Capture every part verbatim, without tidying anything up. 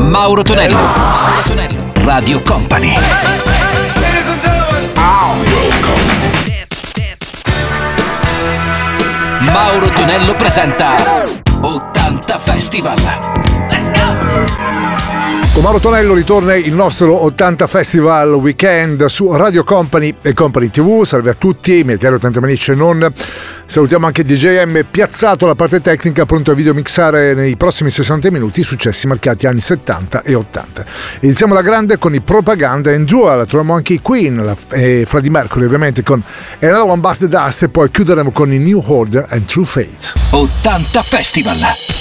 Mauro Tonello. Mauro Tonello. Radio Company. Mauro Tonello presenta ottanta Festival. Let's go! Con Mauro Tonello ritorna il nostro ottanta Festival Weekend su Radio Company e Company tivù. Salve a tutti, miei cari ottanta Manici e non. Salutiamo anche D J M piazzato alla parte tecnica, pronto a videomixare nei prossimi sessanta minuti i successi marcati anni settanta e ottanta. Iniziamo la grande con i Propaganda and Dual, troviamo anche i Queen la, e Freddie Mercury ovviamente con Another One Bites the Dust e poi chiuderemo con i New Order and True Fates. ottanta Festival.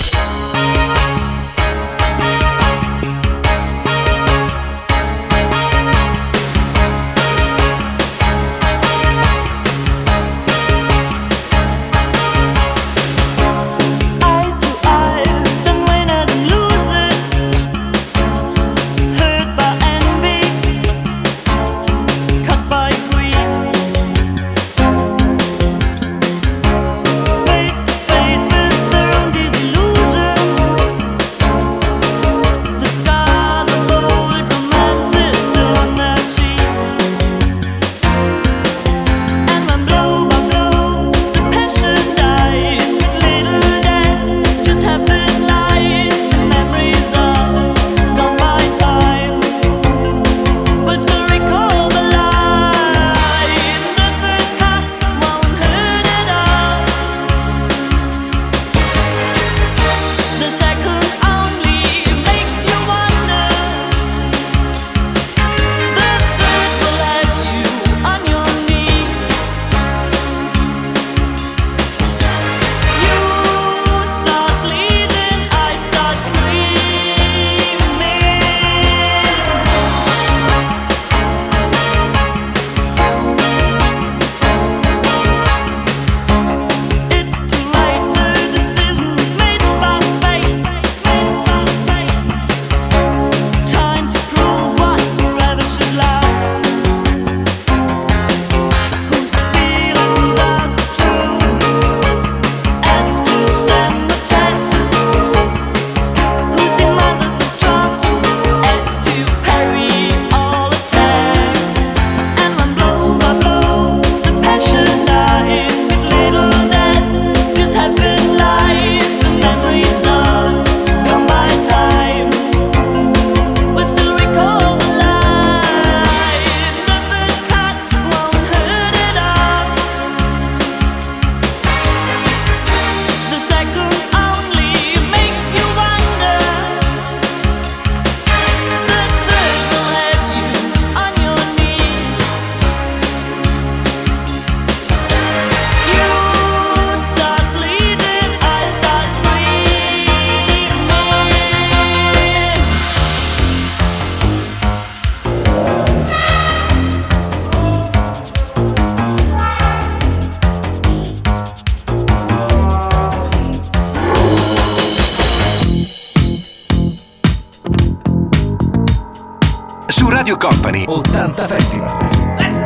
Radio Company ottanta Festival. Let's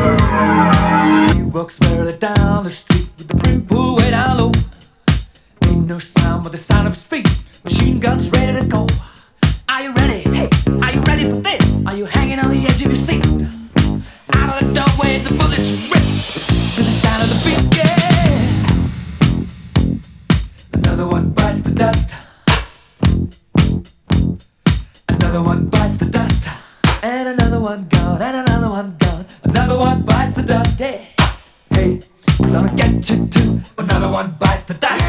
go! He walks barely down the street with the brim pulled way down low. Ain't no sound but the sound of his feet. Machine guns ready to go. Are you ready? Hey, are you ready for this? Are you hanging on the edge of your seat? Out of the doorway the bullets rip to the sound of the beat. Yeah. Another one bites the dust. Another one bites the dust. And another one gone, and another one gone. Another one bites the dust, hey. Hey, I'm gonna get you too. Another one bites the dust.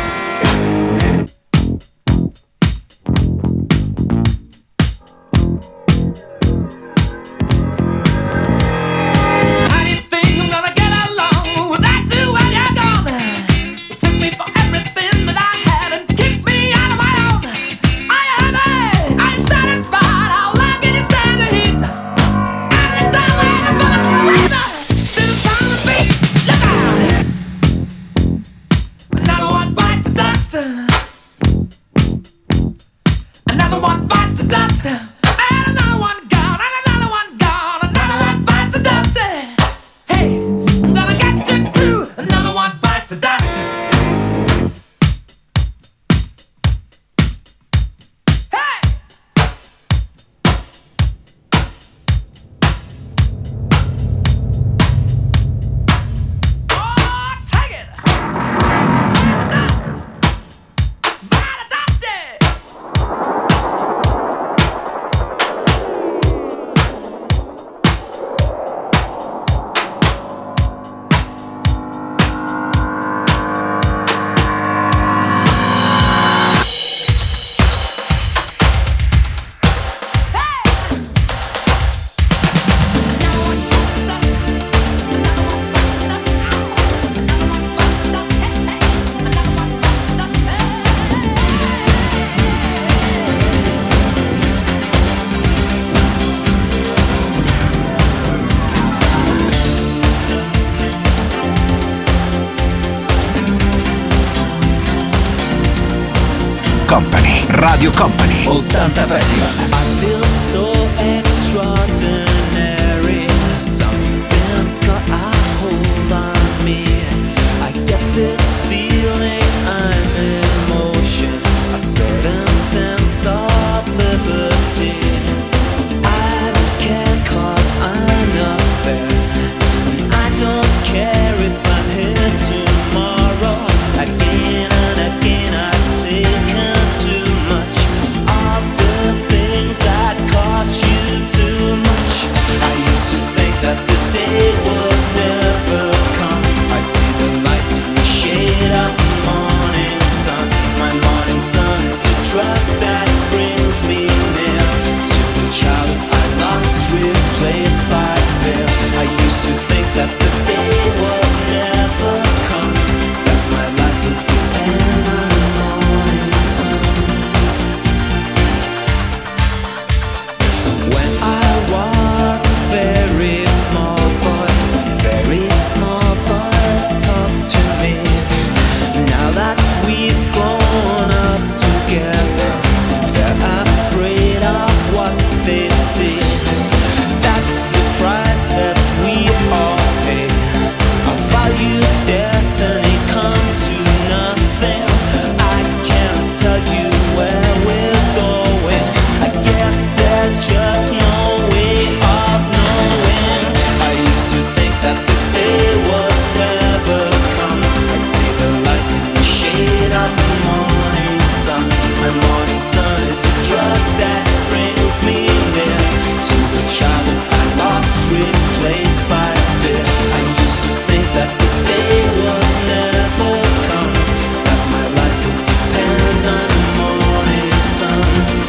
How do you think I'm gonna get along without you when you're gone? You took me for everything that I had and kicked me out of my own. Are you happy? Are you satisfied? How long can you stand the heat? Another one bites the dust, and another one gone, and another one gone, another one bites the dust. Hey, I'm gonna get you too. Another one bites the dust. Hey, Radio Company ottanta Festival. I feel so extraordinary. Something's got a hold on me. I get this feeling I'm in motion, a certain sense of liberty. I don't care 'cause I'm not there. I don't care if I'm here tomorrow. Again and again I've taken too much of the things that cost you too much. I used to think that the day would never come. I'd see the light in the shade of the morning sun. My morning sun is a drug that brings me near to the child I lost, replaced by fear. I used to think that the day would never come, that my life would depend on the morning sun. When I was a very small boy, very small boys talk to me. Now that we've grown up together, they're afraid of what they see. That's the price that we all pay. Our value destiny comes to nothing. I can't tell you where we're going. I guess there's just no way of knowing. I used to think that the day would never come. I'd see the light in the shade of the morning sun. My morning sun is a drug that brings me near to the child that I lost, replaced by fear. I used to think that the day would never come, that my life would depend on the morning sun.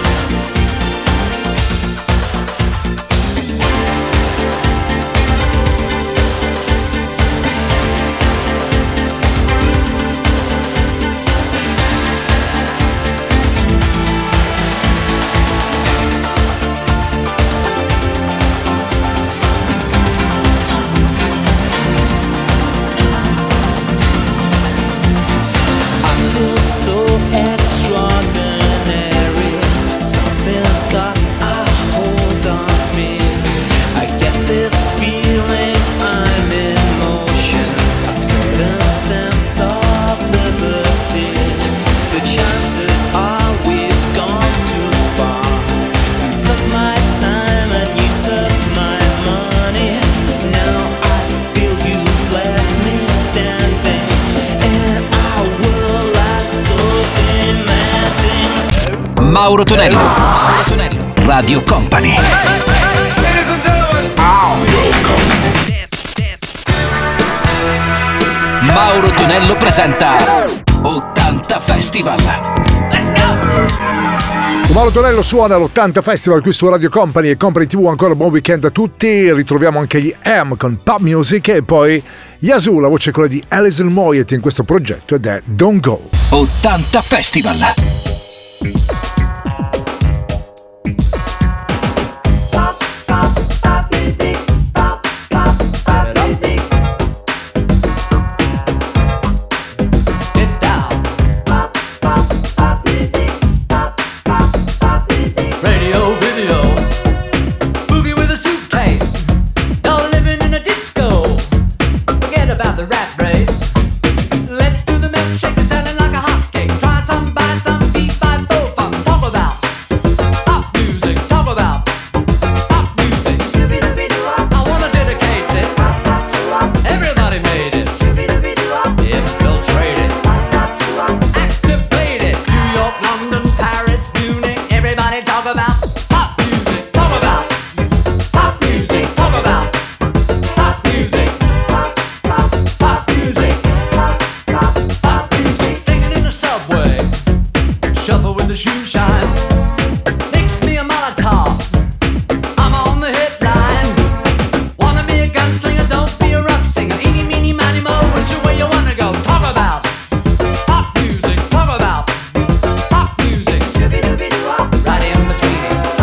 I feel so extraordinary. Something's got a hold on me. I get this feeling I'm in motion, a certain sense of liberty. The chances are we've gone too far. You took my time and you took my money. Now I feel you've left me standing in a world that's so demanding. Mauro Tonello, Mauro Tonello, Radio Company. Mauro Tonello presenta ottanta Festival. Let's go! Mauro Tonello suona l'ottanta Festival qui su Radio Company e Company tivù. Ancora buon weekend a tutti. Ritroviamo anche gli M con Pop Music e poi Yazoo, la voce è quella di Alison Moyet in questo progetto ed è Don't Go. ottanta Festival. Pop, pop, pop music, pop, pop, pop music. Get down. Pop, pop, pop music, pop, pop, pop music. Radio, video, movie with a suitcase. No living in a disco. Forget about the rat race. Let's do the milkshake and selling like a hotcake. Try some, buy some, beat by four pop. Talk about pop music. Talk about pop music. Shooby-dooby-doo-wop, I wanna dedicate it. pop, pop, doo-wop, Everybody made it. shooby-dooby-doo-wop, Infiltrated. pop, pop, doo-wop. Activated. New York, London, Paris, Munich. Everybody talk about pop music. Talk about pop music. Talk about pop music. Pop, pop, Pop music. pop, pop, Pop music. Singing in the subway. Shuffle with the shoe shine. Mix me a Molotov. I'm on the hit line. Wanna be a gunslinger, don't be a rock singer. Eeny, meeny, miny, mo, which way you wanna go? Talk about pop music. Talk about pop music. shooby-dooby-doo-wop, Right in between it.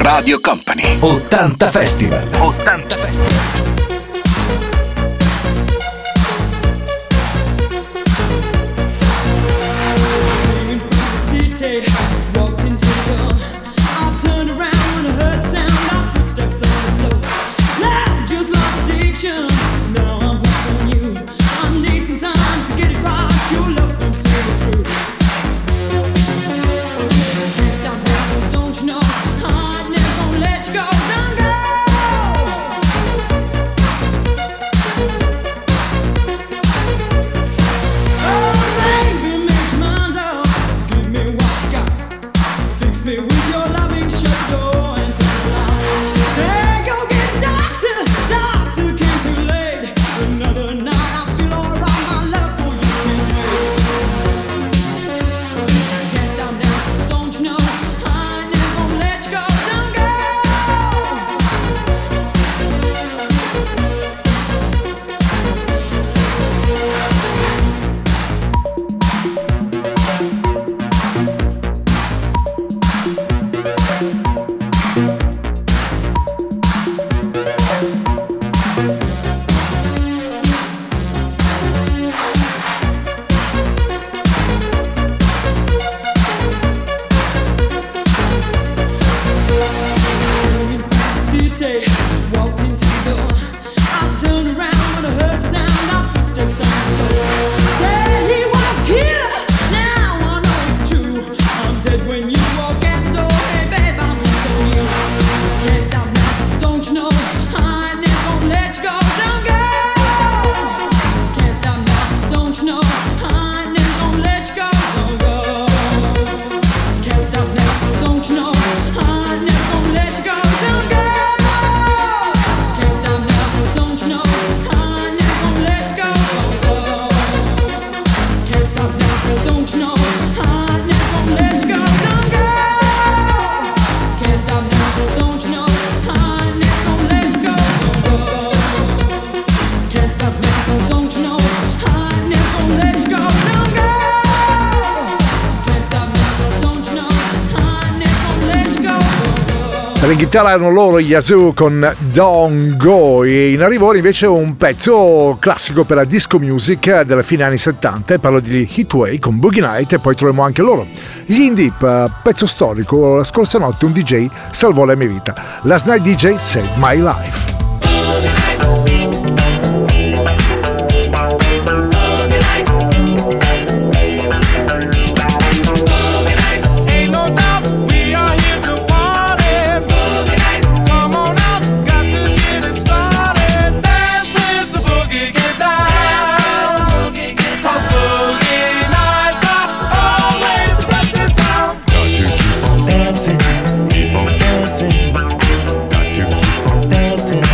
Radio Company. ottanta Festival. ottanta Festival. Walked into the door. I turned around when I heard the sound of footsteps on the floor. Loud, just like addiction. Now I'm hooked on you. I need some time to get it right. Your love's gonna see me through. Can't stop now, don't you know? I'm never gonna let you go. Don't go. Oh, baby, make your mind up. Give me what you got. Fix me with your loving, shut the door and turn it off. Hey, go get the doctor, doctor came too late. Another night I feel alright, my love for you can't wait. Can't stop now, don't you know? I never gonna let you go, don't go. City, walked into the door. I turned around when I heard the sound of footsteps on the floor. Said he was a killer, now I know it's true. I'm dead when you walk out the door. Hey babe, I'm gonna tell you. Can't stop now, don't you know? I never gonna let you go, don't go. Can't stop now, don't you know? I never gonna let you go, don't go. Can't stop now, don't you know? I never gonna let you go, don't go. Can't stop now, don't you know? I never gonna let you go, don't go. Can't stop now, don't you know? I never gonna let you go, don't go. Can't stop now, don't you know? I never gonna let you go, don't go. Can't stop now, don't you know? I never gonna let you go, don't go. Can't stop now, don't you know? I never gonna let you go, don't go. Per in chitarra erano loro gli Yazoo con Don't Go, e in arrivo invece un pezzo classico per la disco music della fine anni settanta, parlo di Heatwave con Boogie Night, e poi troviamo anche loro gli Indie, pezzo storico. La scorsa notte un D J salvò la mia vita. Last Night D J saved my life. Ain't no doubt we are here to party. Come on out, got to get it started. Dance with the boogie, get down. Cause boogie nights are always the best in town. Got to keep on dancing, keep on dancing. Got to keep on dancing.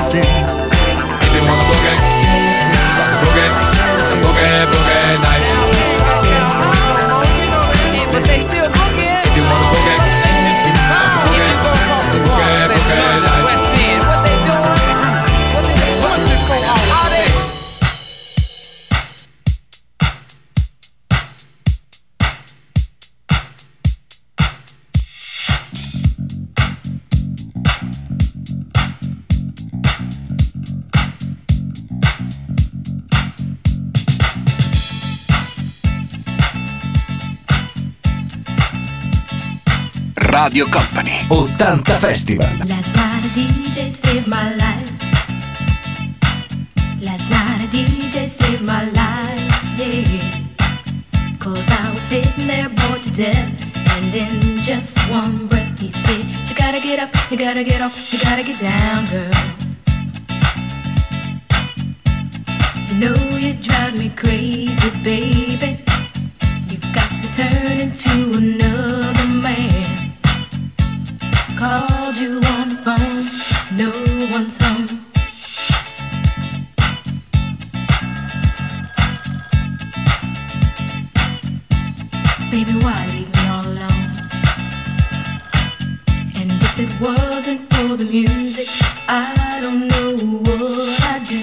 See, if you wanna boogie, boogie, boogie, boogie night. But they still boogie. If you wanna boogie, boogie, boogie, boogie night. West End, what they doing? What they doing? What they doing? All day. Radio Company ottanta Festival. Last night a D J saved my life. Last night a D J saved my life, yeah. Cause I was sitting there bored to death, and in just one breath he said, you gotta get up, you gotta get up, you gotta get down, girl. You know you drive me crazy, baby. You've got to turn into another man. Called you on the phone, no one's home. Baby, why leave me all alone? And if it wasn't for the music, I don't know what I'd do.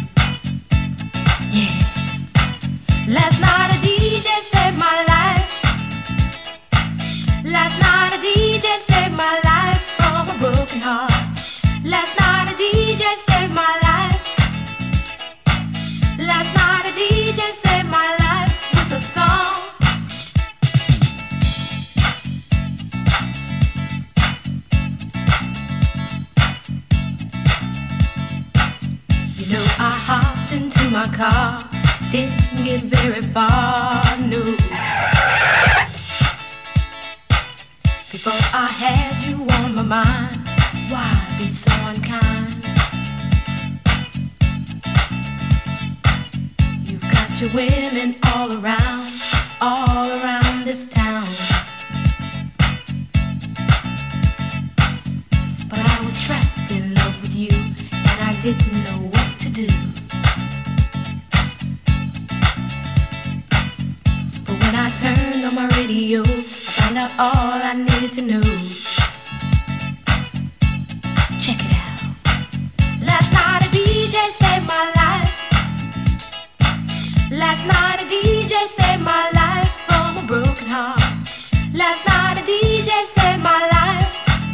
Yeah. Last night a D J saved my life. Last night a D J saved my life from a broken heart. Last night a D J saved my life. Last night a D J saved my life with a song. You know I hopped into my car, didn't get very far, no. Before I had you on my mind, why be so unkind? You've got your women all around, all around this town. But I was trapped in love with you, and I didn't know what to do. But when I turned on my radio, found out all I needed to know. Check it out. Last night a D J saved my life. Last night a D J saved my life from a broken heart. Last night a D J saved my life.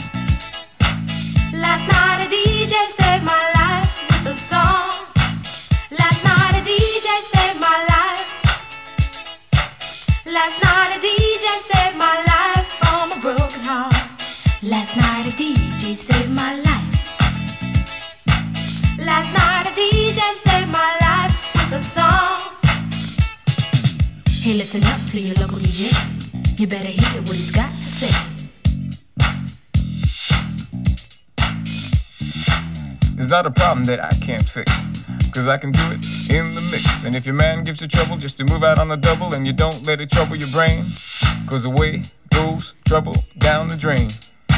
Last night a D J saved my life with a song. Last night a D J saved my life. Last night a D J saved my life from a broken heart. Last night a D J saved my life. Last night a D J saved my life with a song. Hey, listen up to your local D J. You better hear what he's got to say. It's not a problem that I can't fix, cause I can do it in the mix. And if your man gives you trouble just to move out on a double, and you don't let it trouble your brain, cause away goes trouble down the drain.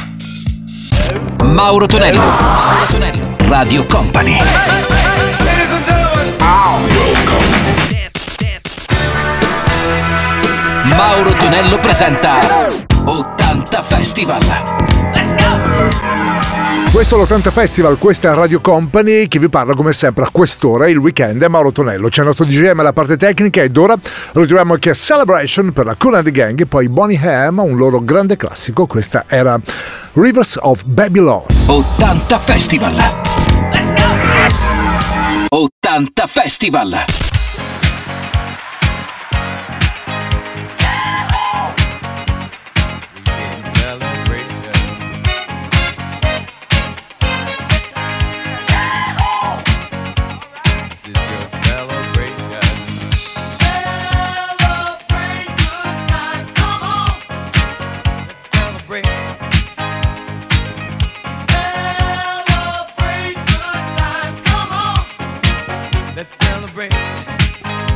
Mauro Tonello, Mauro Tonello, Radio Company. Mauro Tonello presenta ottanta Festival. Let's go! Questo è l'ottanta Festival, questa è Radio Company che vi parla come sempre a quest'ora. Il weekend è Mauro Tonello, c'è il nostro D J M alla parte tecnica ed ora ritroviamo anche Celebration per la Kool and the Gang e poi Boney M, un loro grande classico. Questa era Rivers of Babylon. ottanta Festival. Let's go! ottanta Festival. Let's celebrate.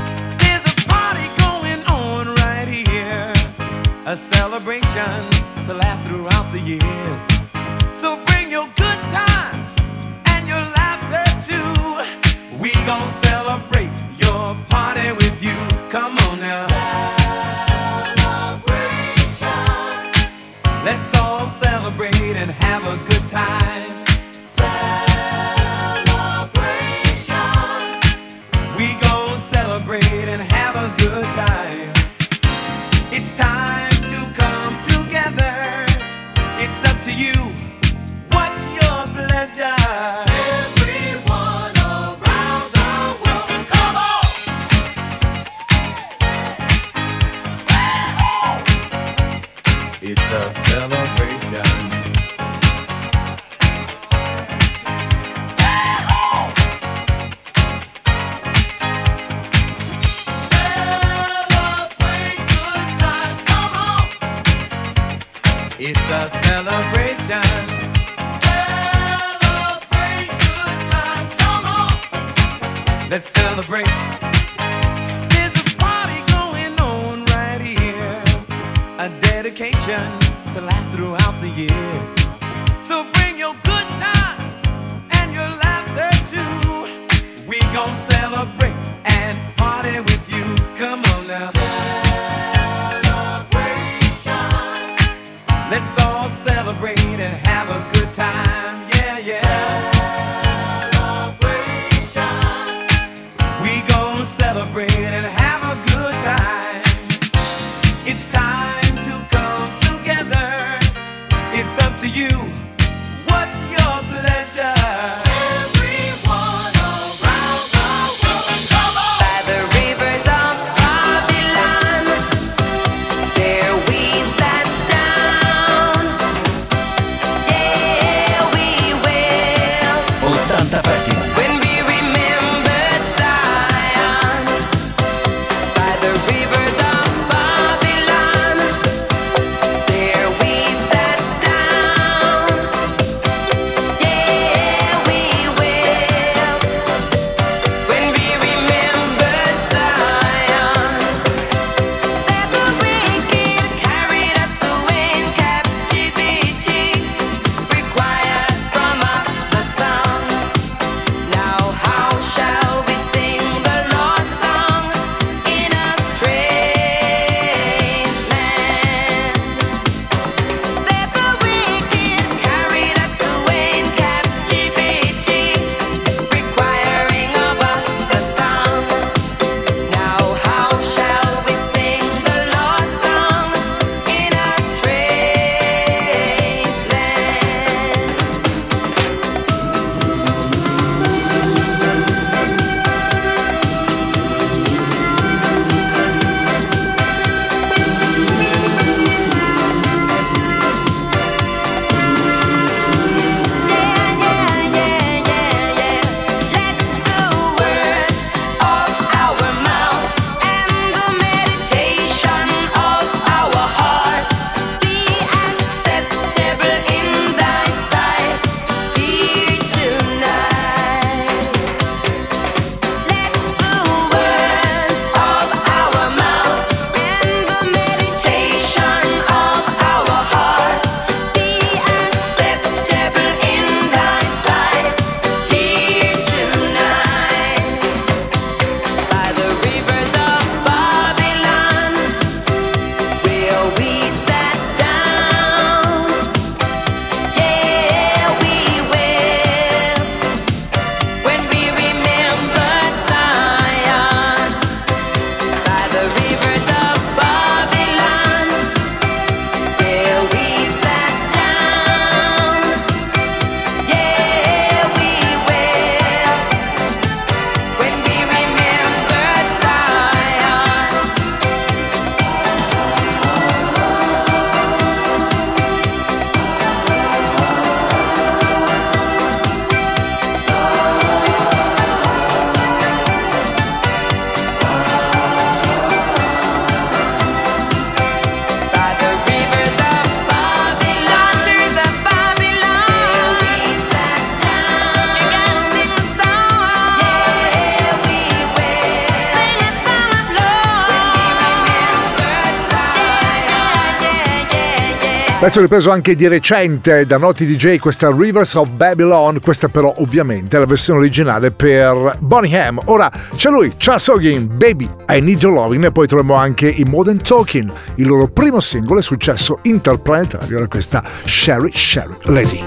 It's a celebration. Celebrate good times, come on. Let's celebrate. There's a party going on right here. A dedication to last throughout the years. So bring your good times and your laughter too. We gon' celebrate and party with you. Come on now. Let's all celebrate and have a good time, yeah, yeah. Celebration. We gon' celebrate and have a good time. It's time to come together. It's up to you. What's your pleasure? Everyone around the world, come on. By the rivers of Babylon, there we sat down. Yeah, we will. ottanta Festival. When we remembered Zion. By the rivers of Babylon, there we sat down. Yeah, we will. When we remembered Zion. That the wicked carried us away in captivity, required from us the song. Now how shall we sing the Lord's song in a strange land? That the wicked carried us away in captivity, requiring of us the song. Now how shall we sing the Lord's song in a strange land? Let the words of our mouths and the meditation of our hearts be acceptable in thy sight here tonight. Let the words of our mouths and the meditation of our hearts be acceptable in thy sight here tonight. By the rivers of Babylon, where we sat down. Yeah, we will. When we remember Zion. By the rivers of Babylon, where we sat down. Yeah, we will. When we remember Zion. By the rivers of Babylon, rivers of Babylon, where we sat down. You gotta sing the song. Yeah, we will. Sing a song of love. When we remember Zion. Yeah, yeah, yeah, yeah. Pezzo ripreso anche di recente da noti D J, questa Rivers of Babylon, questa però ovviamente è la versione originale per Bonnie M. Ora c'è lui, Charles Hogan, Baby I Need Your Loving, e poi troviamo anche i Modern Talking, il loro primo singolo e successo interplanetario era questa Sherry Sherry Lady.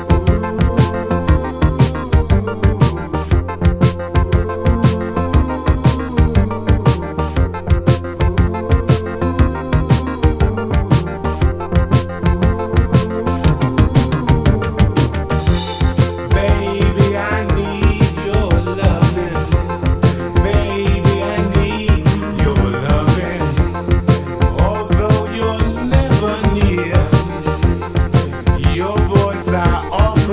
Baby, I need your loving. Baby, I need your loving. Although you're never near, your voice I always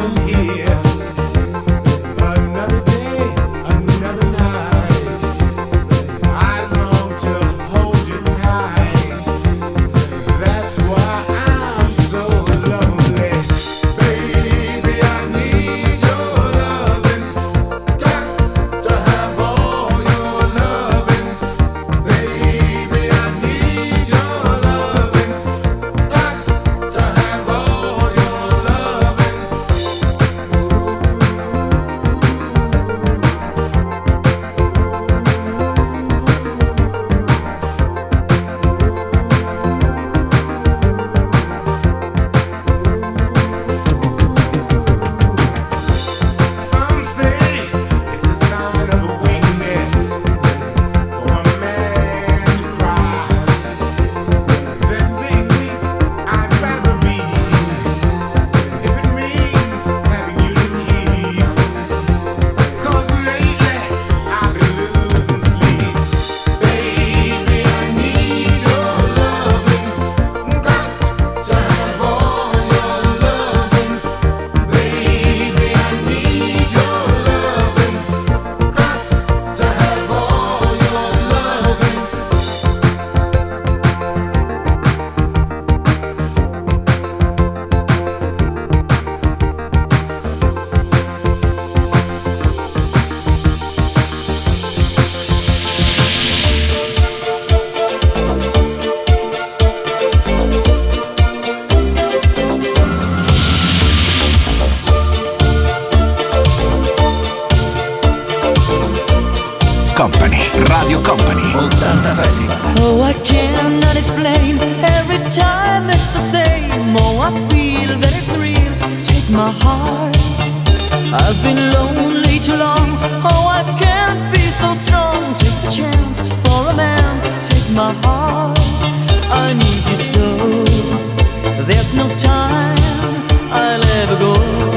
Company, Radio Company, ottanta Festival. Oh, I cannot explain. Every time it's the same. Oh, I feel that it's real. Take my heart. I've been lonely too long. Oh, I can't be so strong. Take the chance for a man. Take my heart. I need you so. There's no time I'll ever go.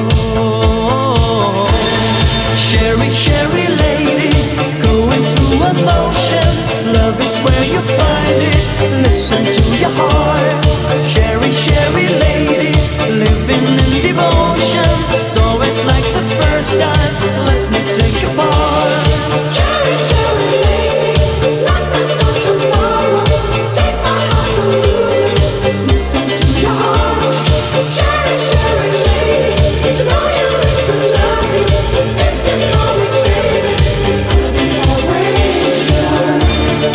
Sherry, Sherry lady, going through emotion. Love is where you find it. Listen to your heart. Sherry, Sherry lady, living in devotion. It's always like the first time. Let me take your part. Sherry, Sherry lady, like there's no tomorrow. Take my heart to lose it. Listen to your heart. Sherry, Sherry lady, to know you is to love you. If you know me, baby, I'll be always yours.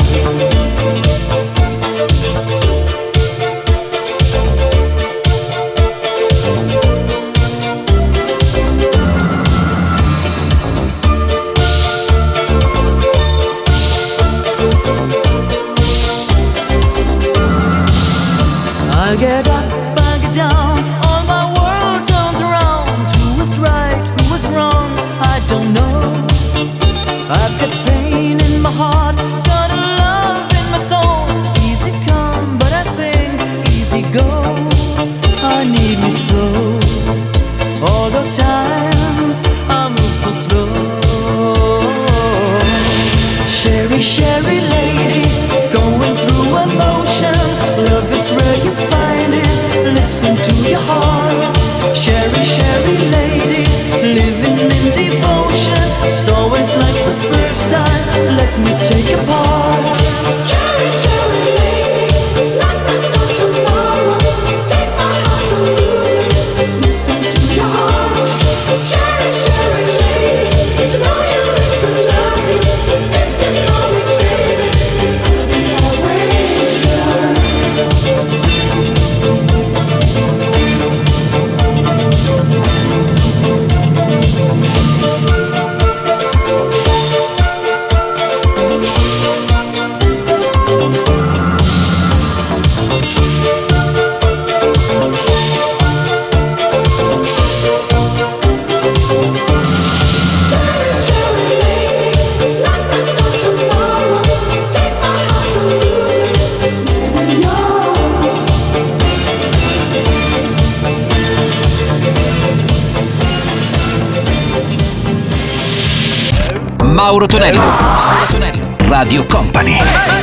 I get up, I get down, all my world turns around. Who was right, who was wrong, I don't know. I've got pain in my heart, got a love in my soul. Easy come, but I think easy go. I need you so. All the times I move so slow. Sherry, Sherry lady, going through emotion. Love is where you find it. Listen to your heart. Sherry, Sherry lady, living in devotion. It's always like the first time. Let me take a part. Sherry, Sherry lady, like there's no tomorrow. Take my heart to lose it. Listen to your heart. Sherry, Sherry lady, to know you is to love you. If you know me, baby, I'll be always yours. Mauro Tonello, Mauro Tonello, Radio Company.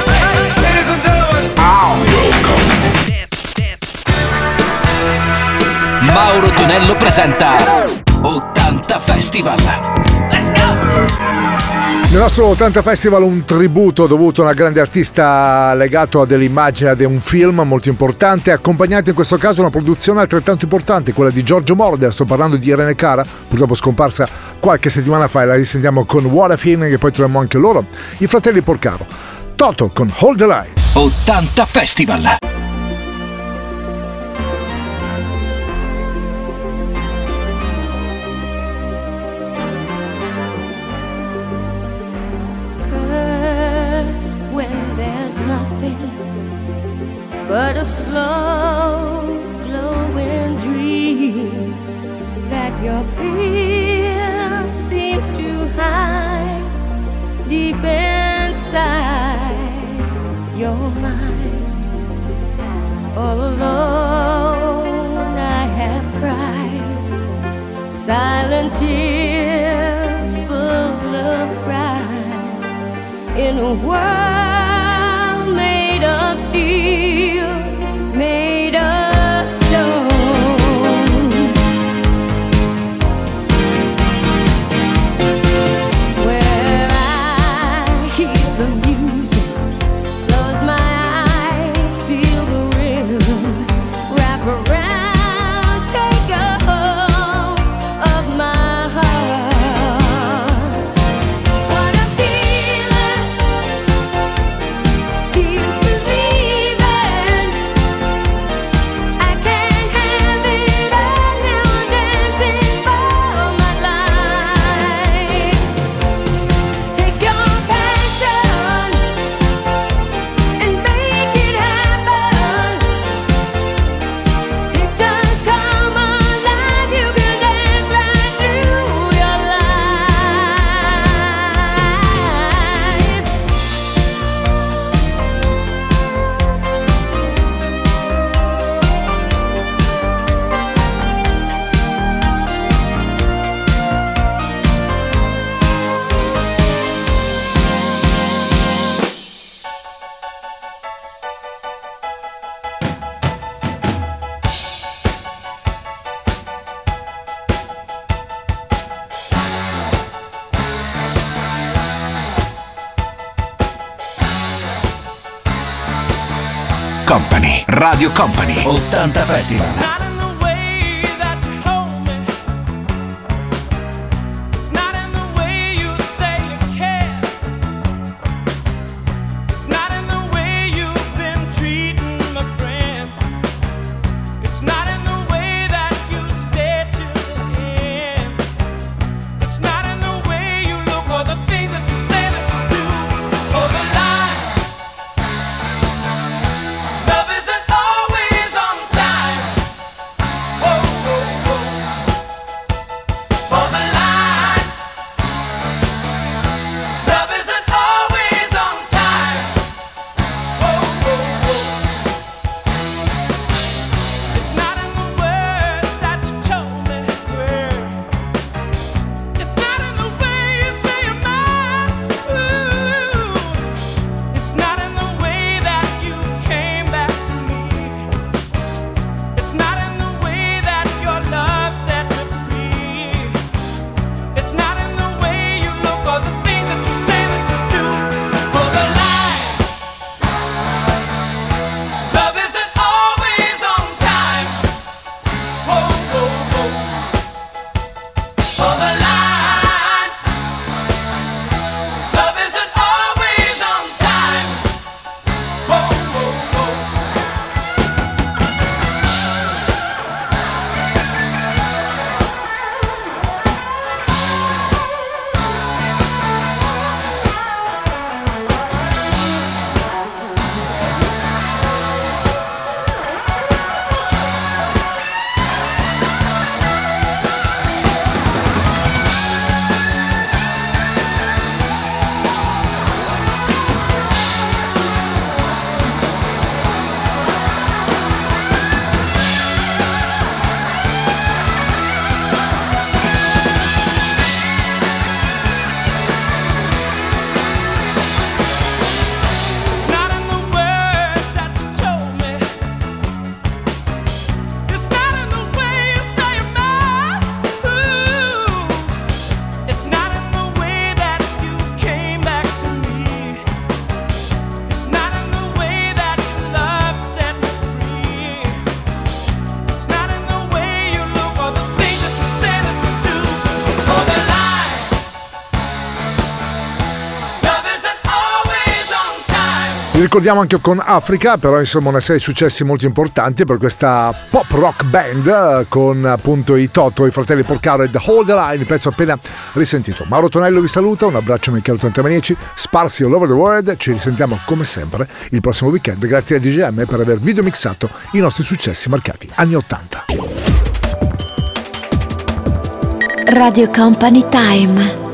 Mauro Tonello presenta ottanta Festival. Let's go! Nel nostro ottanta Festival un tributo dovuto a una grande artista legato a delle immagini, a un film molto importante, accompagnato in questo caso a una produzione altrettanto importante, quella di Giorgio Moroder. Sto parlando di Irene Cara, purtroppo scomparsa qualche settimana fa, e la risentiamo con What a Feeling, e poi troviamo anche loro, i fratelli Porcaro. Toto con Hold the Line. ottanta Festival. Nothing but a slow glowing dream that your fear seems to hide deep inside your mind. All alone I have cried silent tears full of pride in a world made of steel, made of stone. Where I hear the music, close my eyes, feel the rhythm, wrap around, take a hold of my heart. What a feeling. Company, Radio Company, ottanta Festival. Not in the way that you hold me. It's not in the way you say you care. It's not in the way you've been treating my friends. It's not in the way that you stayed to the end. It's not in the way you look or the things that you say that you do. For the line, love isn't always on time. Whoa, whoa, whoa. For the line, love isn't always on time. Whoa, whoa, whoa. It's not in the words that you told me were. It's not in the way you say you're mine. Ooh. It's not in the way that you came back to me. It's not in the way that your love set me free. It's not in the way you look or the things that you say that you do. For the line, love isn't always on time. Whoa, whoa, whoa. For the line, love isn't always on time. Whoa, whoa, whoa. It's not in the words that you told me. It's not in the way you say you're mine. Ooh. It's not in the way that you came back to me. It's not in the way that your love set me free. It's not in the way you look or the things that you say that you do. For the line, love isn't always on time. Vi ricordiamo anche con Africa, però insomma una serie di successi molto importanti per questa pop rock band eh, con appunto i Toto, i fratelli Porcaro e The Hold the Line, il pezzo appena risentito. Mauro Tonello vi saluta, un abbraccio Michele Tantamanici, sparsi all over the world, ci risentiamo come sempre il prossimo weekend, grazie a D J M per aver videomixato i nostri successi marcati anni ottanta. Radio Company Time.